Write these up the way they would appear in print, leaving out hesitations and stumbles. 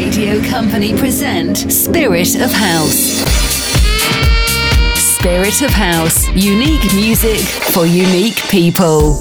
Radio Company present Spirit of House. Spirit of House. Unique music for unique people.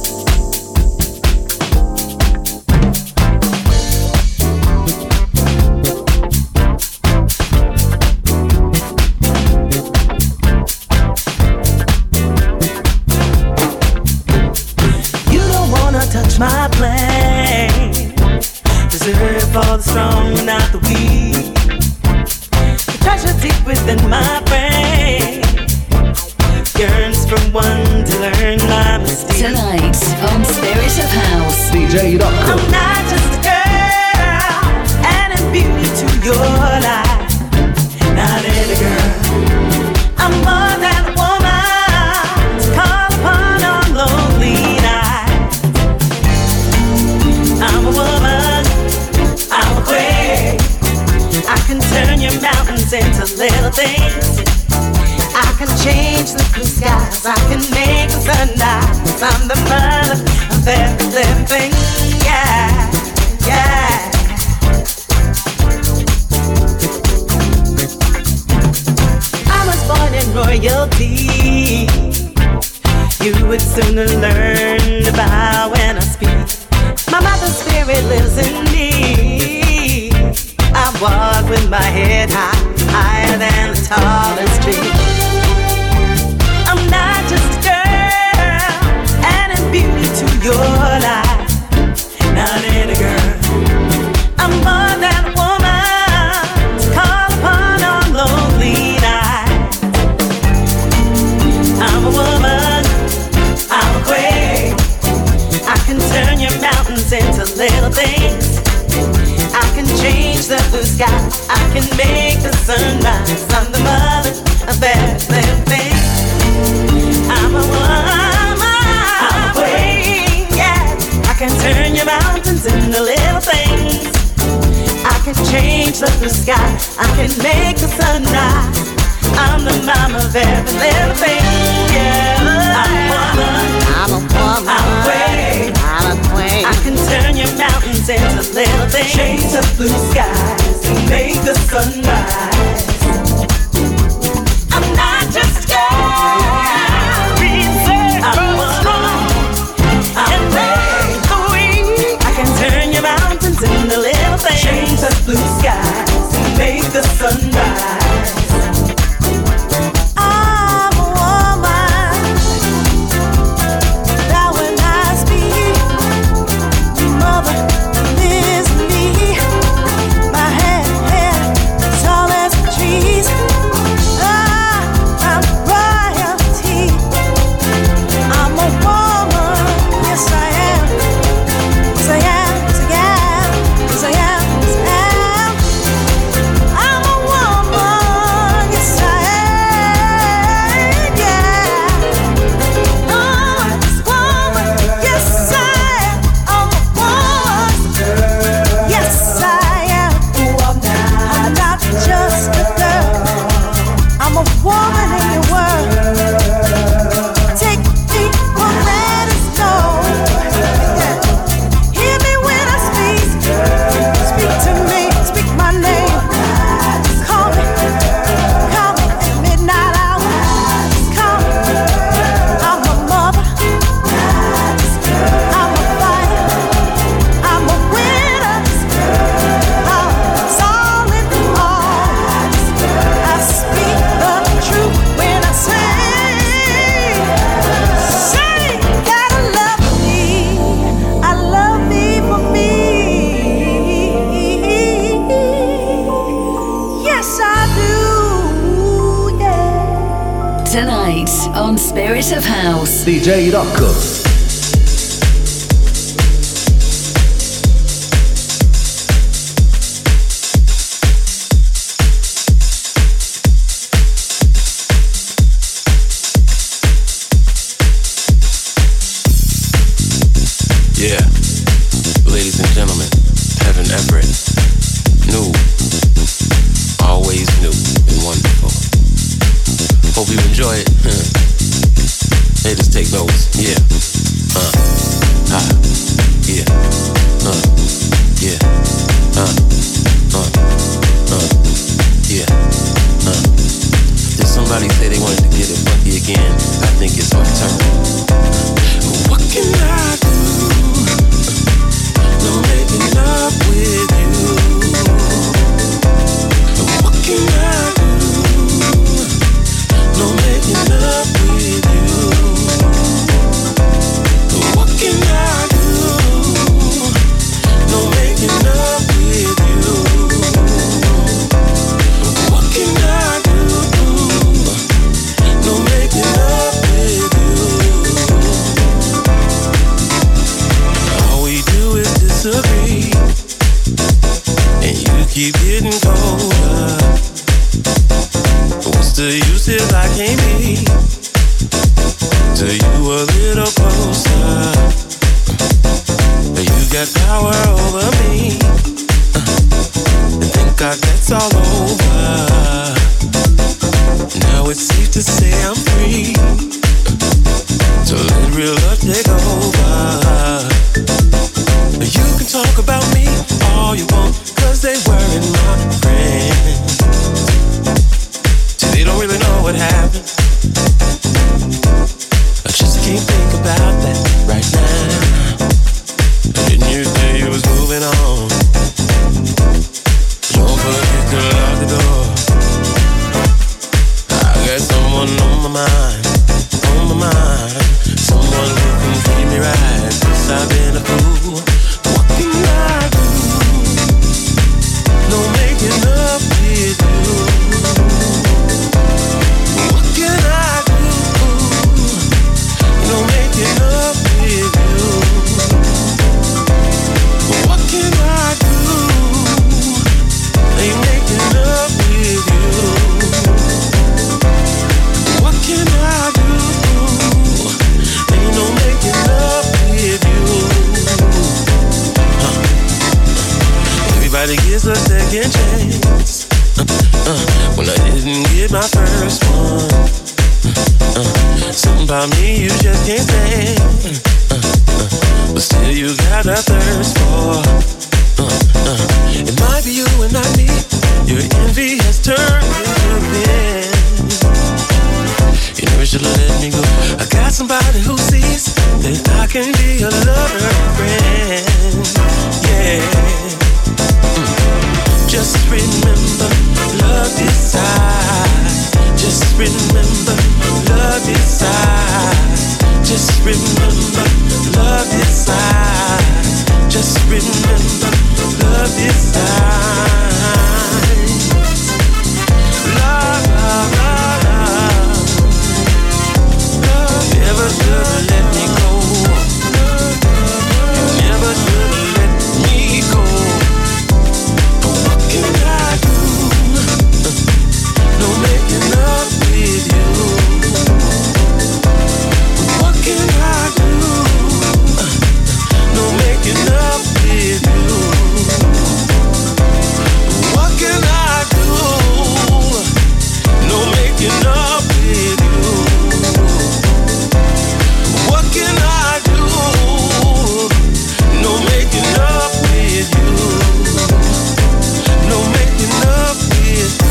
My plan, reserved for the strong, not the weak. The treasure deep within my brain yearns for one to learn my mistakes. Tonight on Spirit of House, DJ Rocco. I'm not just a girl, adding beauty to your life. Not any girl. I'm more than a woman to call upon on lonely nights. I'm a woman, I'm a queen. I can turn your mountains into little things. I can change the blue skies, I can make the sunrise. I'm the mother of every living thing, yeah, yeah. I was born in royalty. You would sooner learn to bow when I speak. My mother's spirit lives in me. I walk with my head high, higher than the tallest tree. I'm not just a girl, adding beauty to your life. Not any girl. I'm more than a woman to call upon on lonely nights. I'm a woman, I'm a queen. I can turn your mountains into little things. I can change the blue sky, I can make the sunrise. I'm the mother of everything. I'm a woman, I'm a queen, yeah. I can turn your mountains into little things. I can change the blue sky, I can make the sunrise. I'm the mama of every little thing, yeah. I'm a woman, I'm a woman, I'm a queen, I'm a queen. I can turn your mountains into little things. Change the blue skies and make the sunrise. I'm not just a girl, I'm a woman, I'm a queen. I can turn your mountains into little things. Change the blue skies and make the sunrise. Spirit of House, DJ Rocco. Yeah, ladies and gentlemen, Kevin Everett, new, always new and wonderful. Hope you enjoy it. Hey, just take notes. Yeah. Yeah. Yeah. making up with you. What can I do? No making up with you. All we do is disagree, and you keep getting colder. What's the use if I can't be to you a little closer? You got power over me, and thank God that's all over. Now it's safe to say I'm free, so let real love take over. You can talk about me all you want, 'cause they weren't my friends. See, they don't really know what happened. I just can't think about that right now. Didn't you say you was moving on? Don't forget to lock the door. I got someone on my mind, someone who can treat me right, 'cause I've been a fool. What can I do? No making up with you. What can I do? No making up with you. What can I do? Ain't making up with you. What can I do? Ain't no making up with you. Everybody gets a second chance. When I didn't get my first one. Something about me you just can't stand. But still you got a thirst for. It might be you and not me. Your envy has turned into pain. You never should've let me go. I got somebody who sees that I can be a lover and friend. Yeah. Just remember, love decides. Just remember, love decides. Just remember, love decides. Just remember, love decides. Love, love, love, love. Love never should've let me go. You never should've let me go. But what can I do? No making up with you. What can I do? No making up with you. What can I do? No making up with you. What can I do? No making up with you. No making up with you.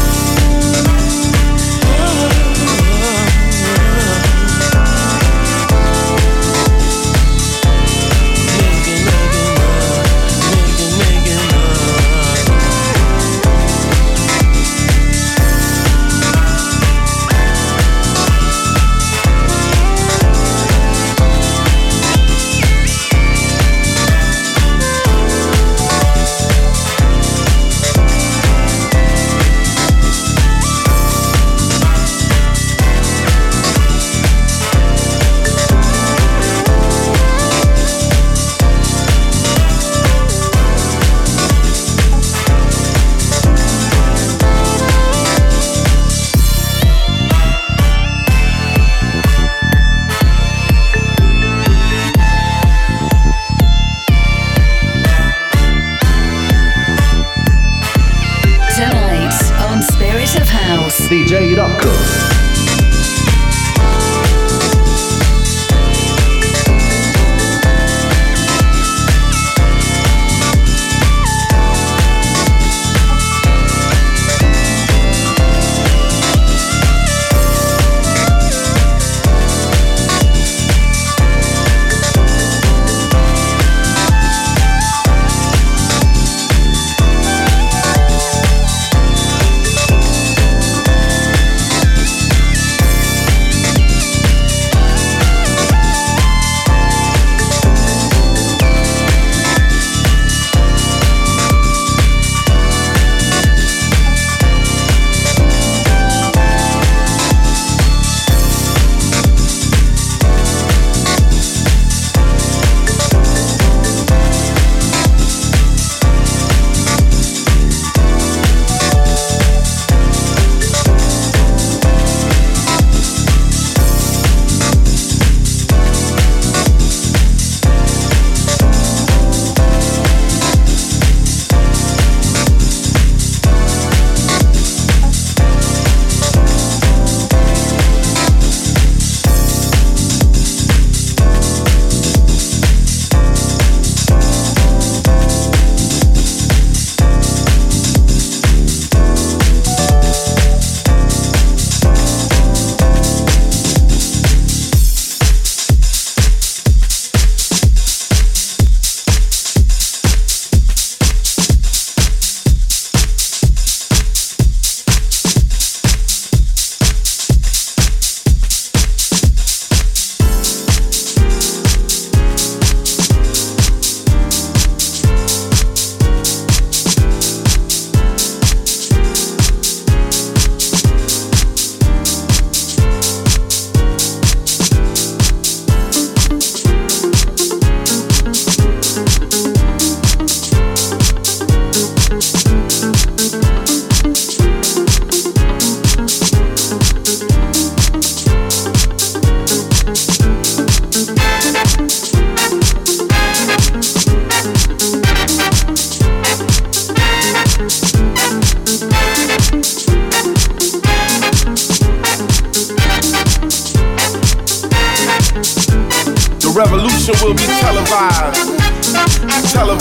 DJ Rocco.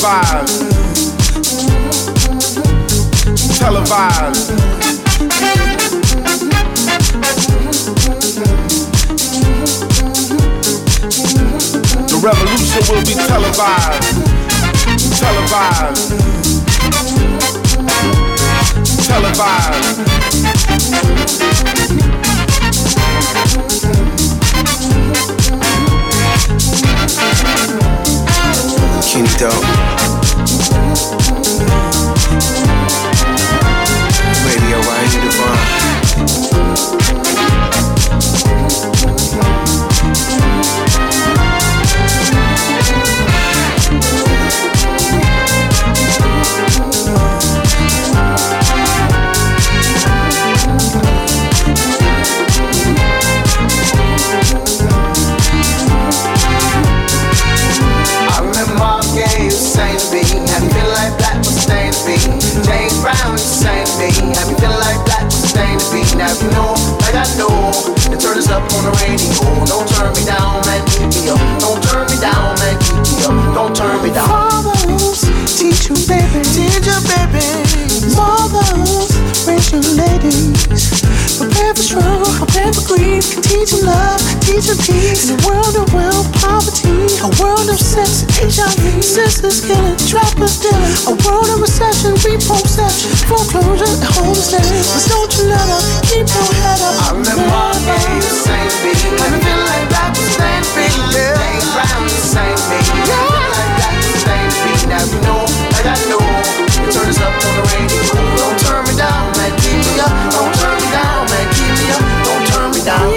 televised. Televised. The revolution will be televised. Televised. Televised. Kenny Dog. Radio, I ain't divine. James Brown sang me, have me feeling like black was stained to be. Now you know, like I know, the turn is up on the radio. Don't turn me down, man, keep me up. Don't turn me down, man, keep me up. Don't turn me down. Fathers, teach you baby, teach you baby. Mothers, raise your ladies. Prepare for struggle, prepare for grief. Teach them love, teach them peace. In a world of wealth, poverty, a world of sex, HIV, sisters killing, trappers stealing, a world of recession, repossession, foreclosure, and homelessness. But don't you let up, keep your head up. I remember all days, same beat. Have me feeling like black was stained to be. James Brown, same beat. Have me feeling like black was stained to be. Now you know, like I know, the turn is up on the radio. Don't turn me down, man, keep me up. Don't turn me down, man, keep me up. Don't turn me down.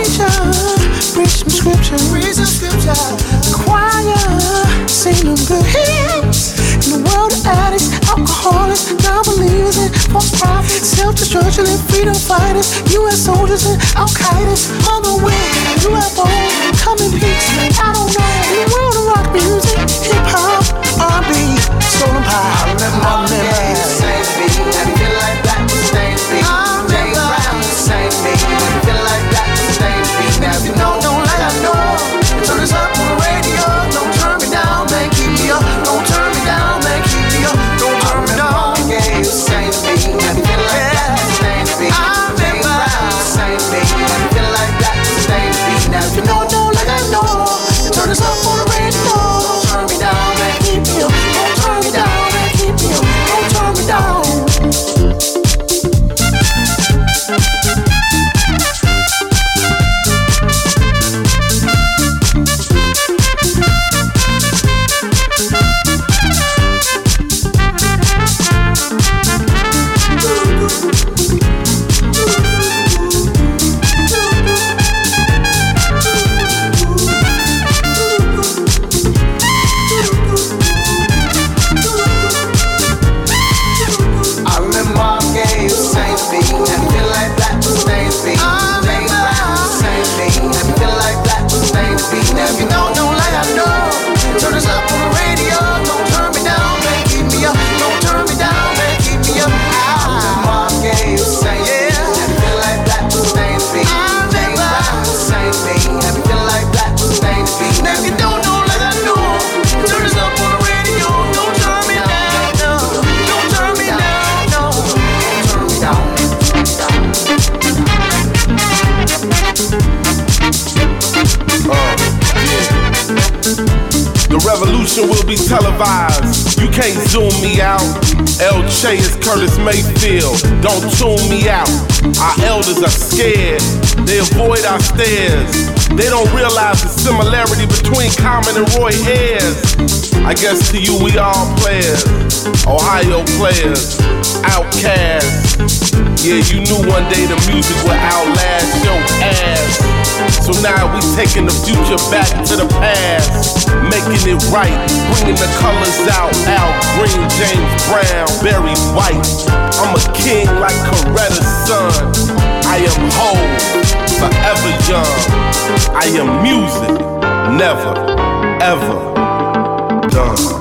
Preach some scripture, read some scripture. The choir, sing them good hymns. In the world of addicts, alcoholics, non-believers, and false prophets, self-destruction and freedom fighters, U.S. soldiers and Al-Qaeda's on the way. UFO, come in peace, I don't know. In the world of rock music, hip-hop, R&B, soul and pop. I remember all the days, same beat. Have me feeling like black was stained to be. James Brown, same beat. Have me feeling like black was stained to be. Now you know, don't like I know. Turn this up on the radio. Don't turn me down, man, keep me up. Don't turn me down, man, keep me up. Don't turn me down. Yeah, same beat. Have me feeling like black was stained to be. James Brown, same beat. Have me feeling like black was stained to be. Now you know, don't like I know. Turn this up on the radio. Don't turn me down, man, keep me up. Don't turn me down, man, keep me up. Don't turn me down. Will be televised. You can't zoom me out. El Che is Curtis Mayfield. Don't tune me out. Our elders are scared. They avoid our stares. They don't realize the similarity between Common and Roy Ayers. I guess to you we all players. Ohio players. Outcasts. Yeah, you knew one day the music would outlast your ass. So now we taking the future back to the past, making it right, bringing the colors out. Al Green, James Brown, Barry White. I'm a king like Coretta's son. I am whole, forever young. I am music, never, ever done.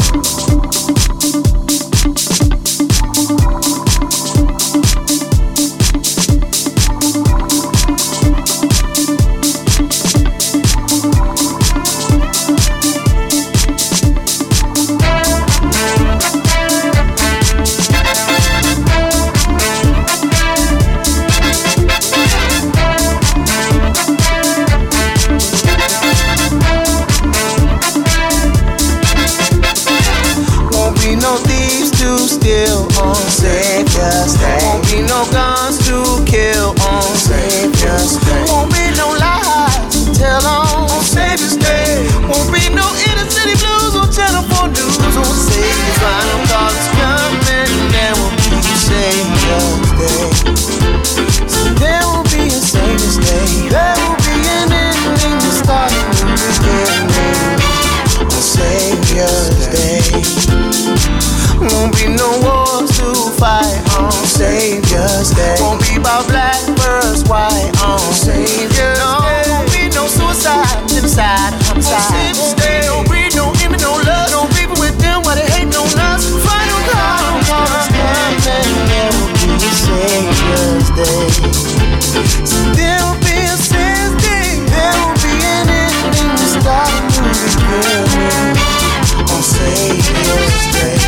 on Savior's Day. Won't be no guns to kill on Savior's Day. Won't be no lies to tell on Savior's Day. Won't be no inner city blues or Channel 4 news on Savior's final call is coming. There will be Savior's Day. So there will be a Savior's Day. There will be an ending to start a new beginning on Savior's Day. Won't be no wars to fight on Savior's Day. Won't be about black versus white on Savior's Day. Won't be no suicide, genocide, homicide. No greed, no envy, no love. No people with them while they hating on us. Final call is coming. There will be a Savior's Day. So there will be a Savior's Day. There will be an ending to start a new beginning on Savior's Day.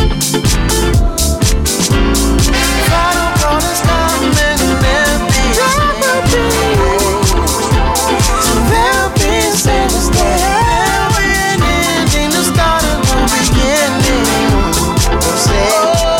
Final call is coming, and there'll be a Savior's Day. So there'll be a Savior's Day. There'll be an ending to start a new beginning on Savior's Day.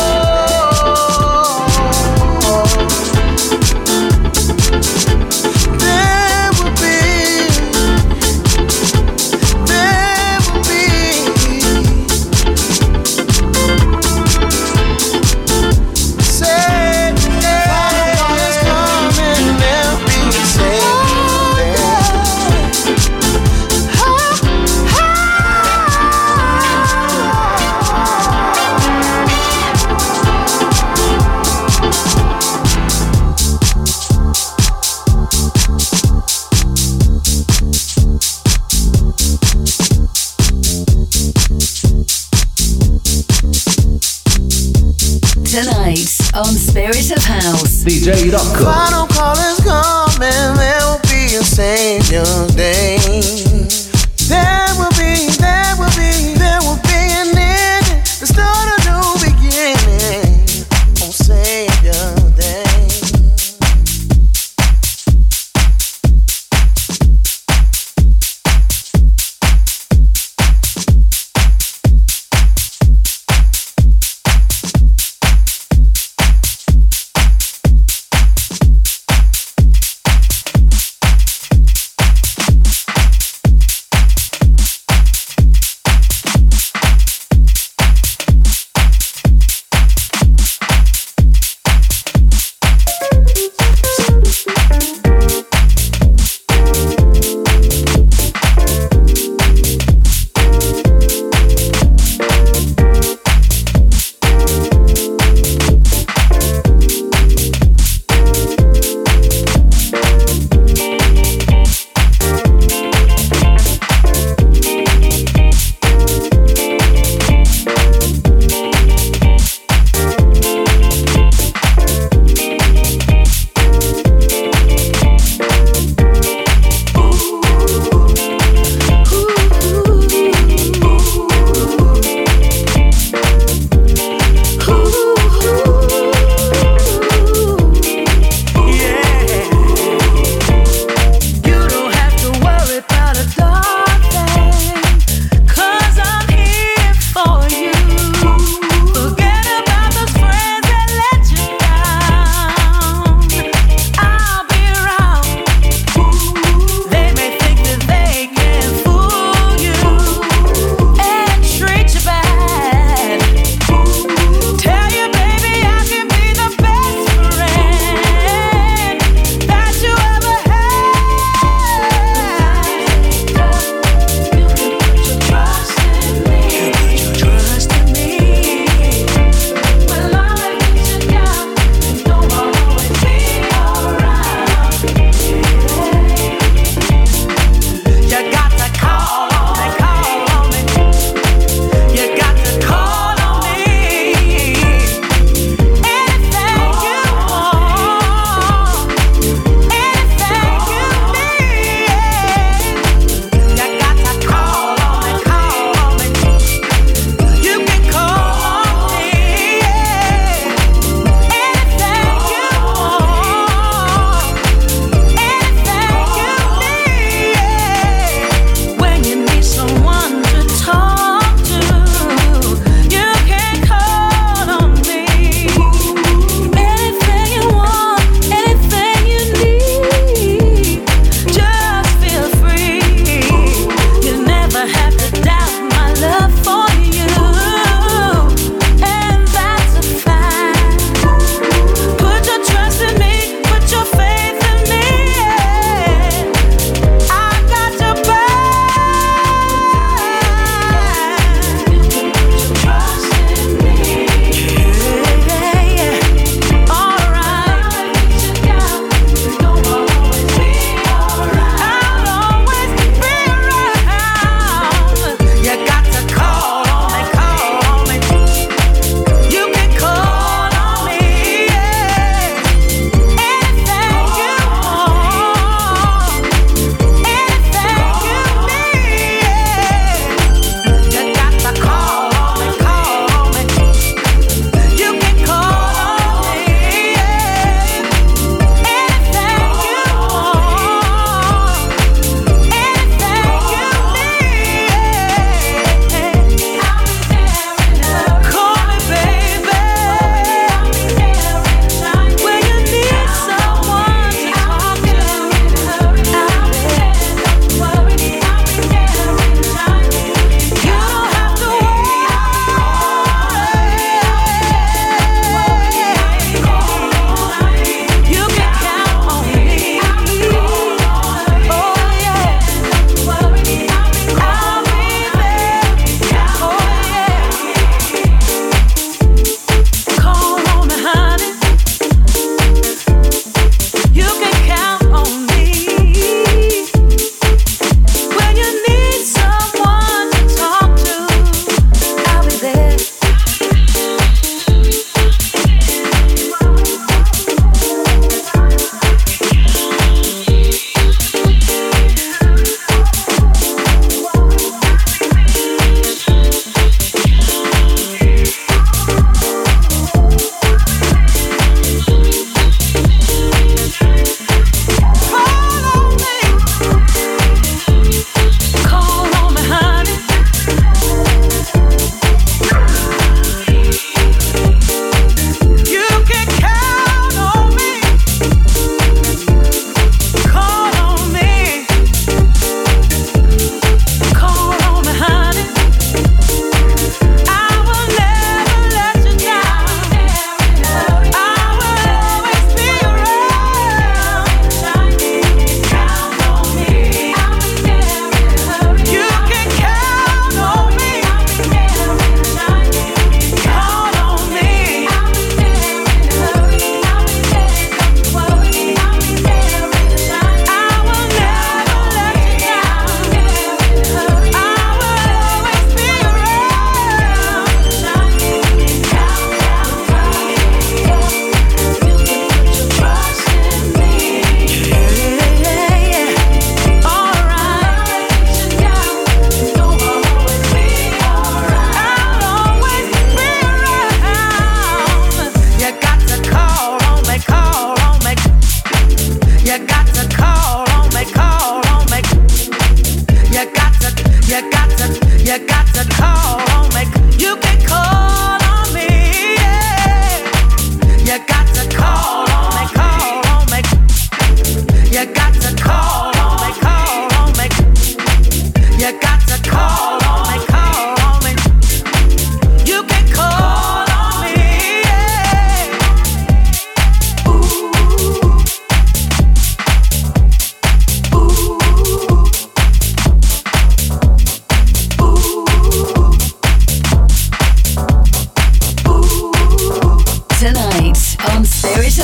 Tonight on Spirit of House, DJ Rocco. Final call is coming, there will be a Savior's Day. There will be an ending to start a new beginning on Savior's Day.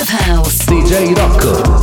of House. DJ Rocco.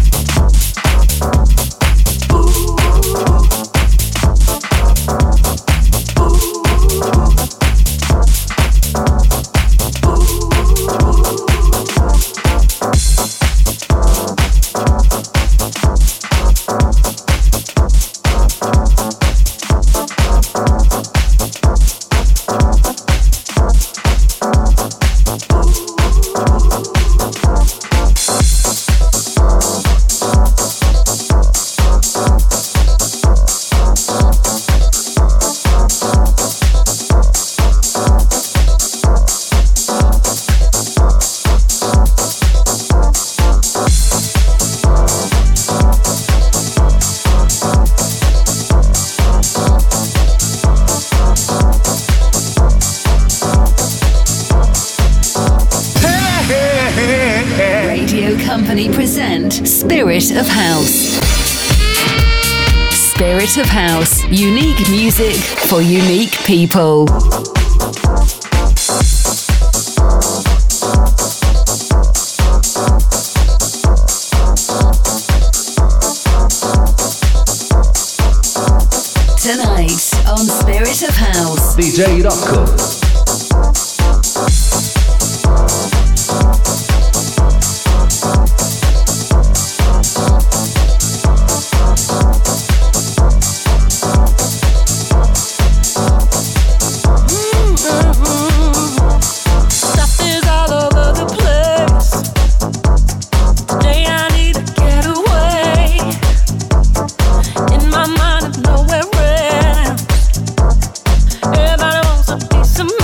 Spirit of House. Spirit of House. Unique music for unique people. Tonight on Spirit of House, DJ Rocco. Everybody wants a piece of me.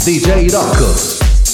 DJ Rocco.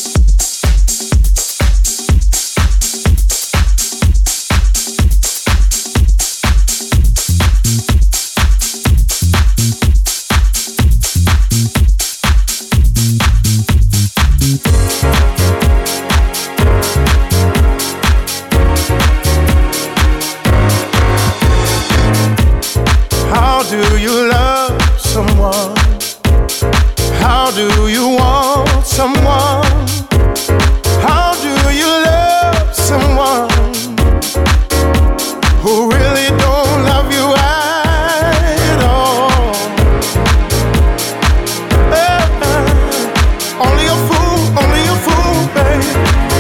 How do you love someone? How do you want someone? How do you love someone who really don't love you at all? Only a fool, babe.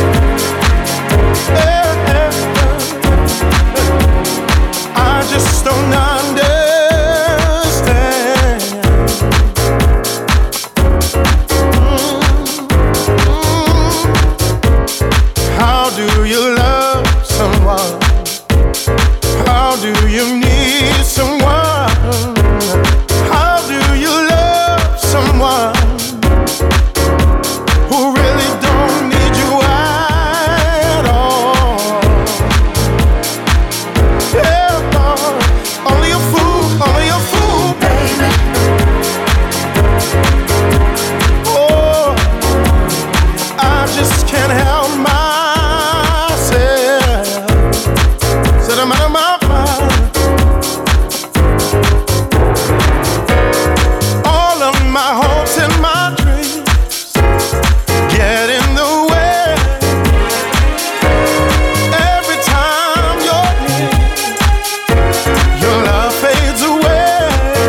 I just don't understand. How do you love someone? How do you need someone? How do you love someone who really don't need you at all? Yeah, only a fool, baby. Oh, I just can't help myself. Said I'm out of my mind. All of my hopes and my dreams get in the way. Every time you're near, your love fades away.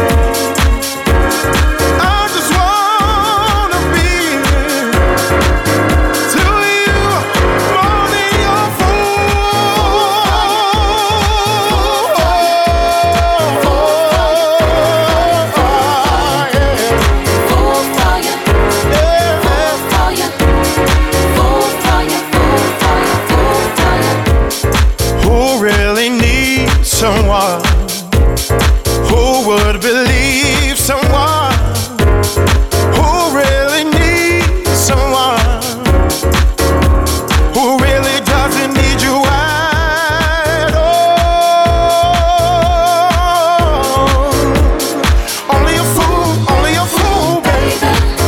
I just wanna be to you more than your who really needs someone who would believe someone who really needs someone who really doesn't need you at all. Only a fool, baby.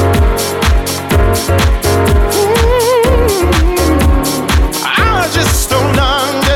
I just don't understand.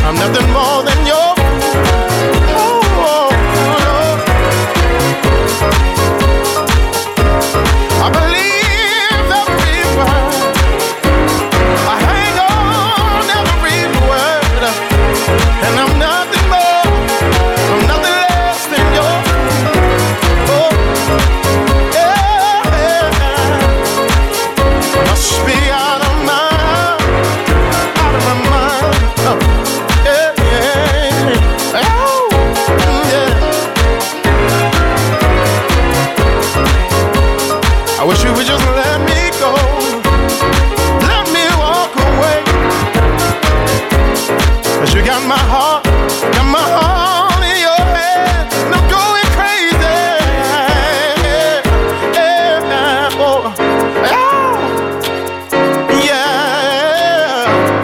I'm nothing more than your I believe every word. I hang on every word. And I'm nothing more, I'm nothing less than your must be out of my mind. I wish you would just let me go, let me walk away. 'Cause you got my heart in your head, and I'm going crazy. Oh, yeah.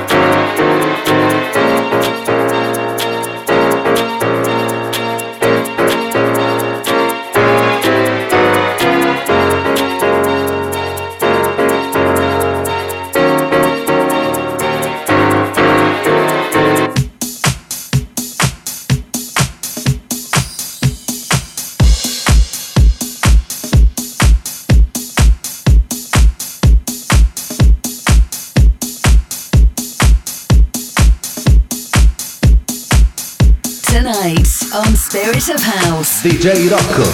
Tonight on Spirit of House, DJ Rocco.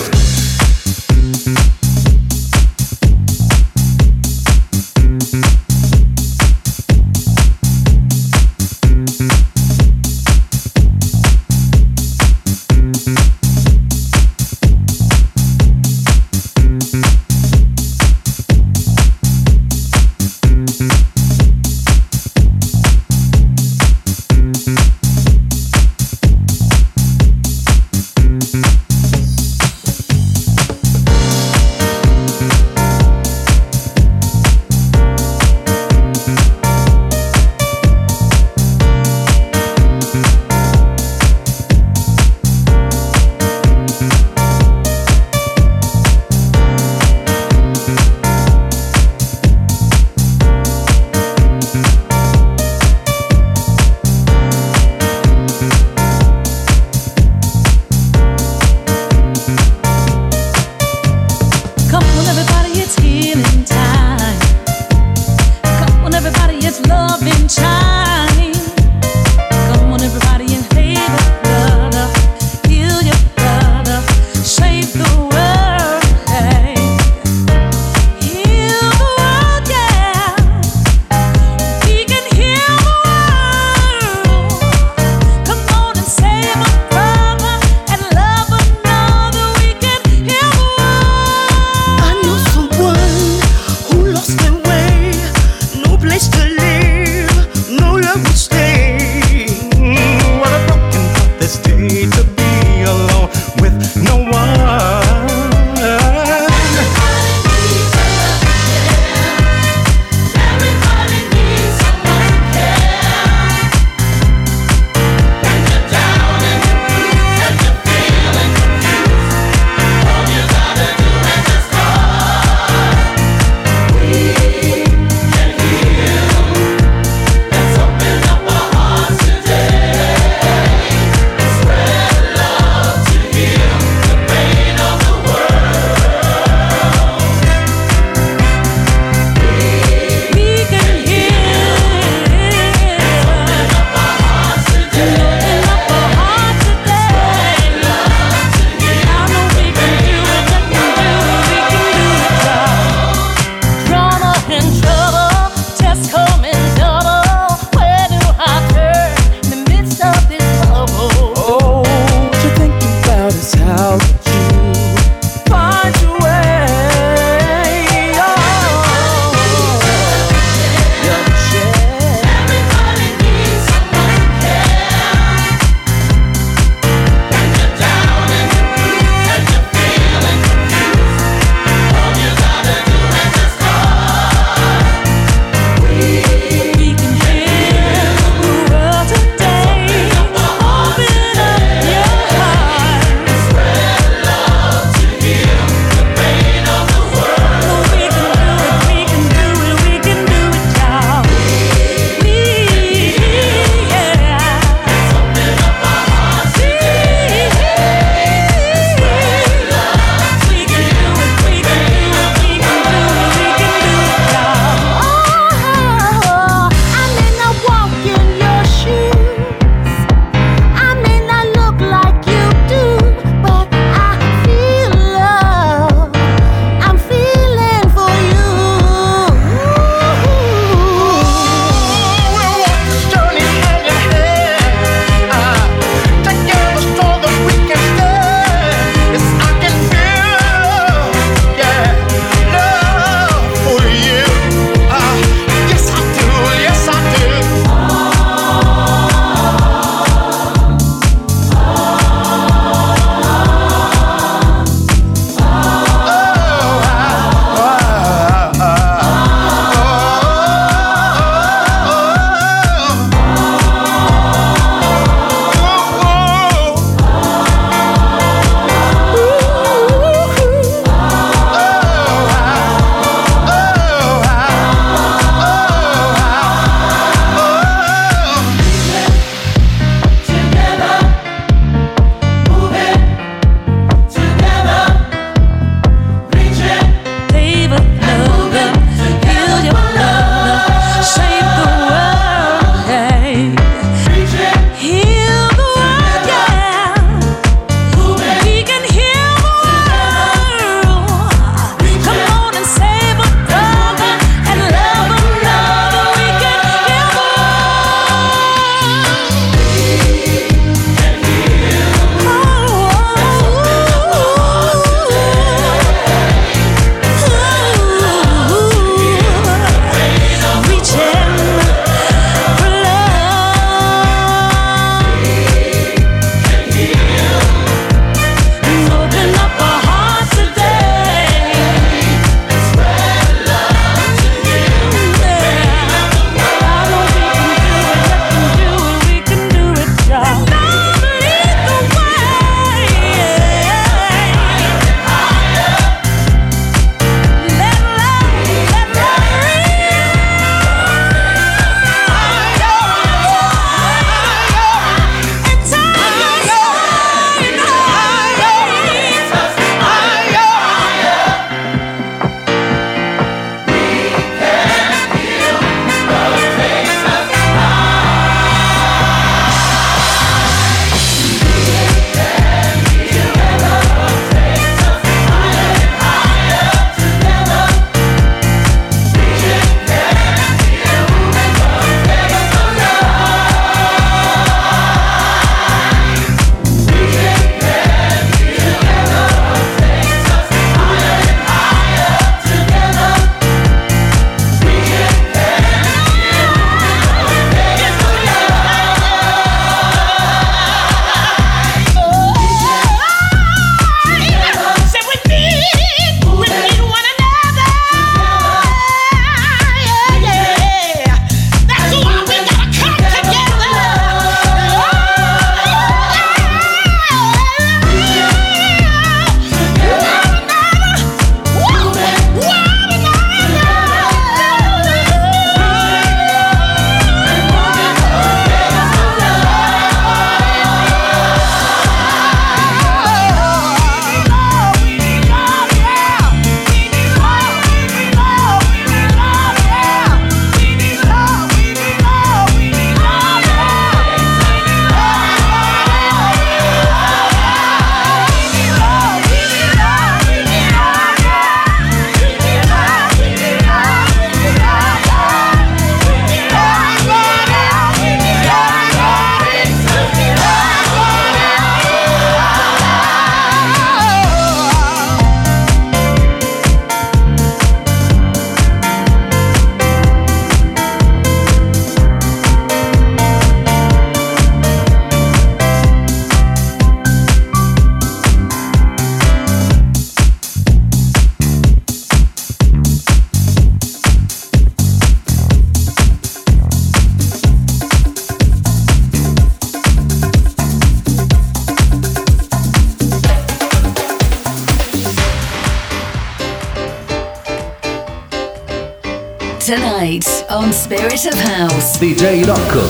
tonight on Spirit of House. DJ Rocco.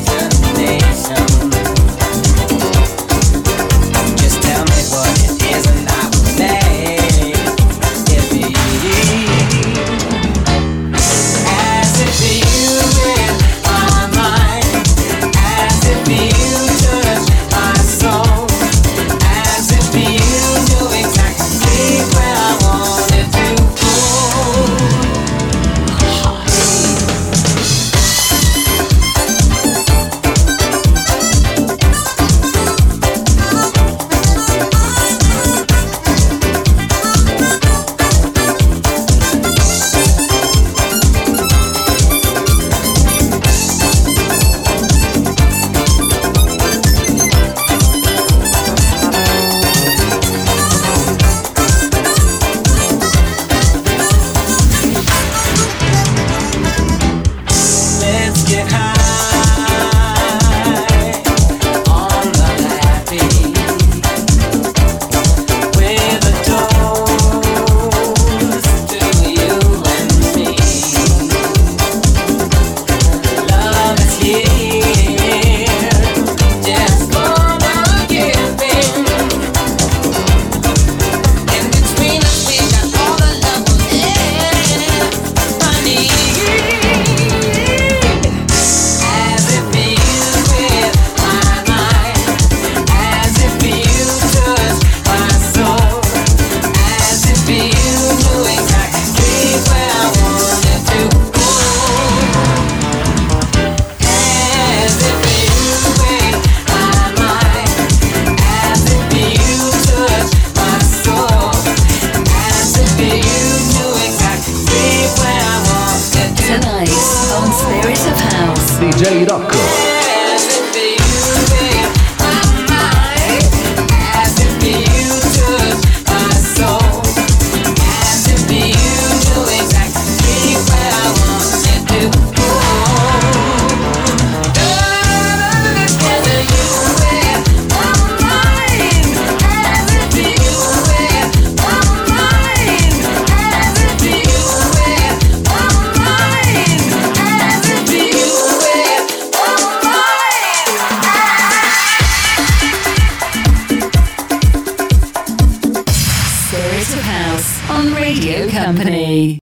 Just tell me what it is. DJ Rocco. On Radio Company.